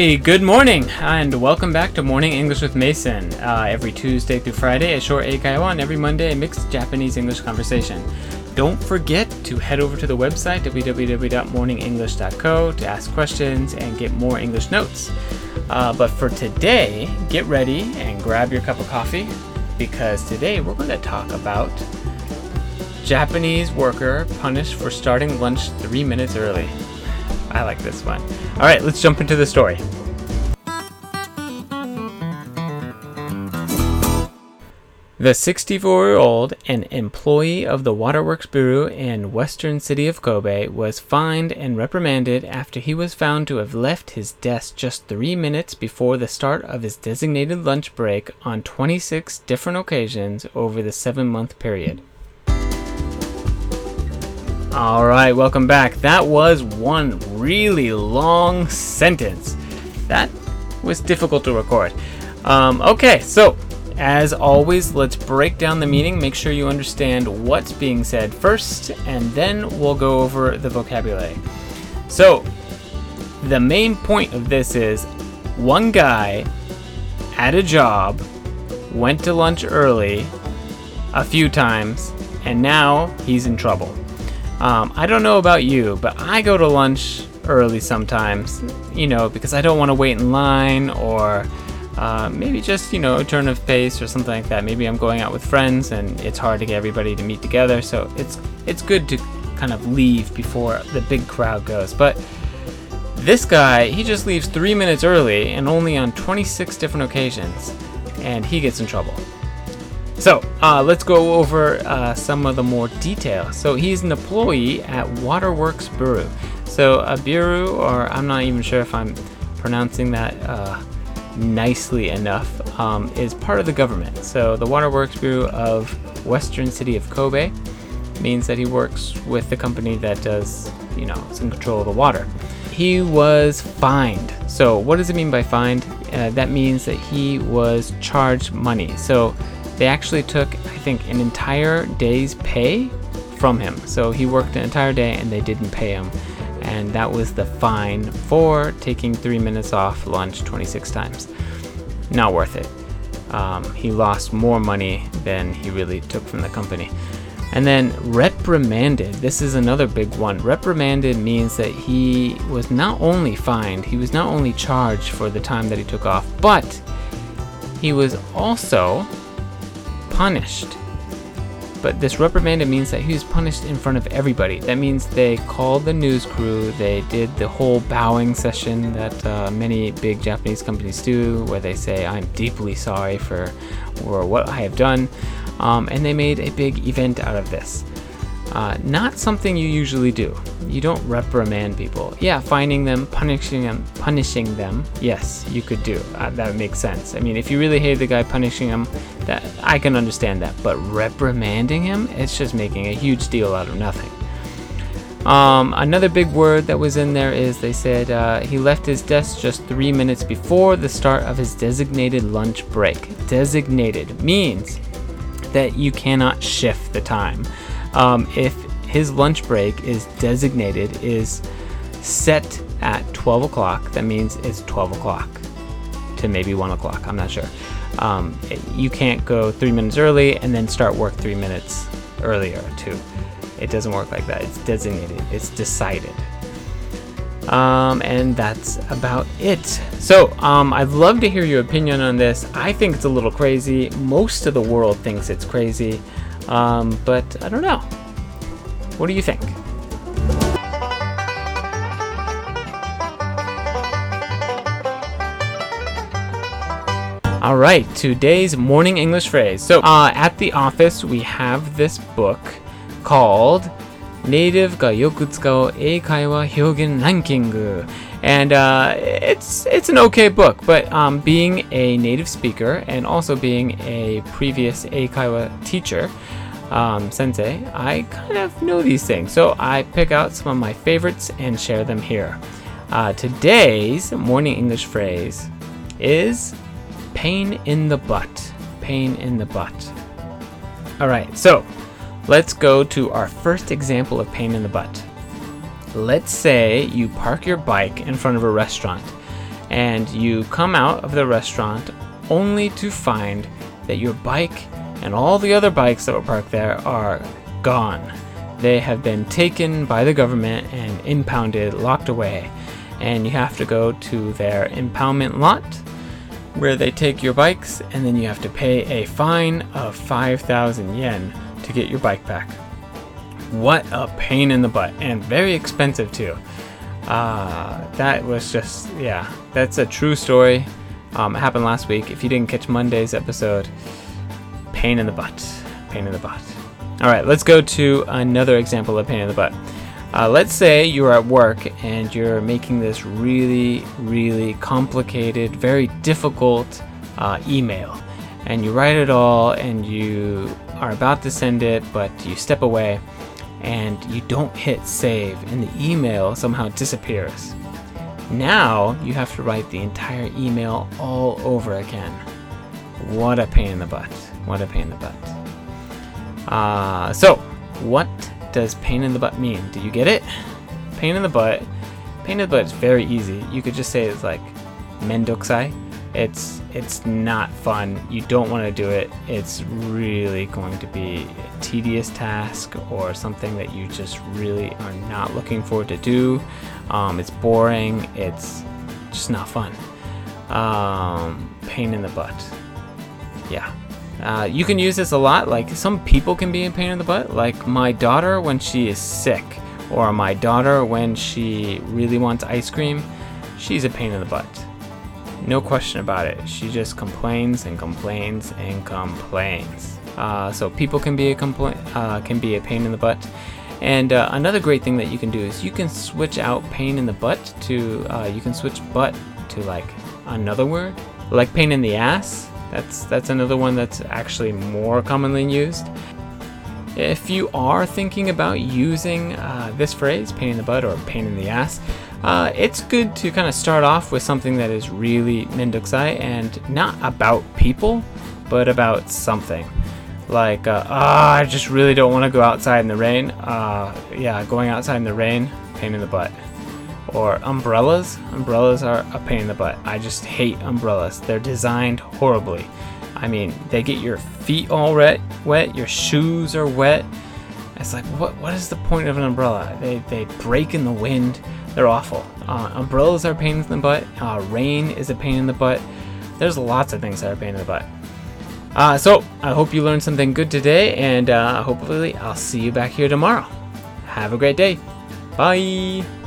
Hey, good morning, and welcome back to Morning English with Mason. Every Tuesday through Friday, a short eikaiwa, and every Monday, a mixed Japanese-English conversation. Don't forget to head over to the website, www.morningenglish.co, to ask questions and get more English notes. But for today, get ready and grab your cup of coffee, because today we're going to talk about Japanese worker punished for starting lunch 3 minutes early. I like this one. All right, let's jump into the story. The 64-year-old, an employee of the Waterworks Bureau in western city of Kobe, was fined and reprimanded after he was found to have left his desk just 3 minutes before the start of his designated lunch break on 26 different occasions over the 7-month period. Alright, welcome back. That was one really long sentence. That was difficult to record. Okay, so as always, let's break down the meaning. Make sure you understand what's being said first, and then we'll go over the vocabulary. So, the main point of this is one guy at a job went to lunch early a few times, and now he's in trouble. I don't know about you, but I go to lunch early sometimes, because I don't want to wait in line, or maybe just, a turn of pace or something like that. Maybe I'm going out with friends and it's hard to get everybody to meet together, so it's good to kind of leave before the big crowd goes. But this guy, he just leaves 3 minutes early and only on 26 different occasions, and he gets in trouble. So, let's go over some of the more detail. So, he's an employee at Waterworks Bureau. So, a bureau, or I'm not even sure if I'm pronouncing that nicely enough, is part of the government. So, the Waterworks Bureau of Western City of Kobe means that he works with the company that does, some control of the water. He was fined. So, what does it mean by fined? That means that he was charged money. So, they actually took, I think, an entire day's pay from him. So he worked an entire day and they didn't pay him. And that was the fine for taking 3 minutes off lunch 26 times. Not worth it. He lost more money than he really took from the company. And then reprimanded. This is another big one. Reprimanded means that he was not only fined, he was not only charged for the time that he took off, but he was also punished. But this reprimanded means that he was punished in front of everybody. That means they called the news crew, they did the whole bowing session that many big Japanese companies do, where they say, I'm deeply sorry for what I have done, and they made a big event out of this. Not something you usually do. You don't reprimand people. Yeah, finding them, punishing them, yes, you could do. That makes sense. I mean, if you really hate the guy, punishing him, that I can understand that. But reprimanding him, it's just making a huge deal out of nothing. Another big word that was in there is they said he left his desk just 3 minutes before the start of his designated lunch break. Designated means that you cannot shift the time. If his lunch break is designated, is set at 12 o'clock, that means it's 12 o'clock to maybe 1 o'clock, I'm not sure. You can't go 3 minutes early and then start work 3 minutes earlier too. It doesn't work like that. It's designated, it's decided. And that's about it. So, I'd love to hear your opinion on this. I think it's a little crazy. Most of the world thinks it's crazy. But I don't know. What do you think? All right, today's morning English phrase. So, at the office, we have this book called Native ga yoku tsukau eikaiwa hyogen ranking. And it's an okay book, but being a native speaker and also being a previous eikaiwa teacher, sensei, I kind of know these things. So I pick out some of my favorites and share them here. Today's morning English phrase is pain in the butt. Pain in the butt. All right, so let's go to our first example of pain in the butt. Let's say you park your bike in front of a restaurant and you come out of the restaurant only to find that your bike and all the other bikes that were parked there are gone. They have been taken by the government and impounded, locked away, and you have to go to their impoundment lot where they take your bikes, and then you have to pay a fine of 5,000 yen to get your bike back. What a pain in the butt, and very expensive too. That was just, yeah, that's a true story. It happened last week. If you didn't catch Monday's episode, pain in the butt, pain in the butt. All right, let's go to another example of pain in the butt. Let's say you're at work and you're making this really, really complicated, very difficult email. And you write it all and you are about to send it, but you step away and you don't hit save and the email somehow disappears. Now you have to write the entire email all over again. What a pain in the butt. What a pain in the butt. So, what does pain in the butt mean? Do you get it? Pain in the butt. Pain in the butt is very easy. You could just say it's like mendokusai. It's not fun. You don't want to do it. It's really going to be a tedious task or something that you just really are not looking forward to do. It's boring. It's just not fun. Pain in the butt. Yeah. You can use this a lot. Like, some people can be a pain in the butt, like my daughter when she is sick, or my daughter when she really wants ice cream. She's a pain in the butt, no question about it. She just complains and complains and complains. So people can be a pain in the butt. And another great thing that you can do is you can switch out pain in the butt to you can switch butt to like another word, like pain in the ass. That's another one that's actually more commonly used. If you are thinking about using this phrase, pain in the butt or pain in the ass, it's good to kind of start off with something that is really mendokusai and not about people, but about something. Like, I just really don't want to go outside in the rain. Yeah, going outside in the rain, pain in the butt. Or umbrellas. Umbrellas are a pain in the butt. I just hate umbrellas. They're designed horribly. I mean, they get your feet all wet, your shoes are wet. It's like, what is the point of an umbrella? They break in the wind. They're awful. Umbrellas are a pain in the butt. Rain is a pain in the butt. There's lots of things that are a pain in the butt. So, I hope you learned something good today, and hopefully I'll see you back here tomorrow. Have a great day. Bye!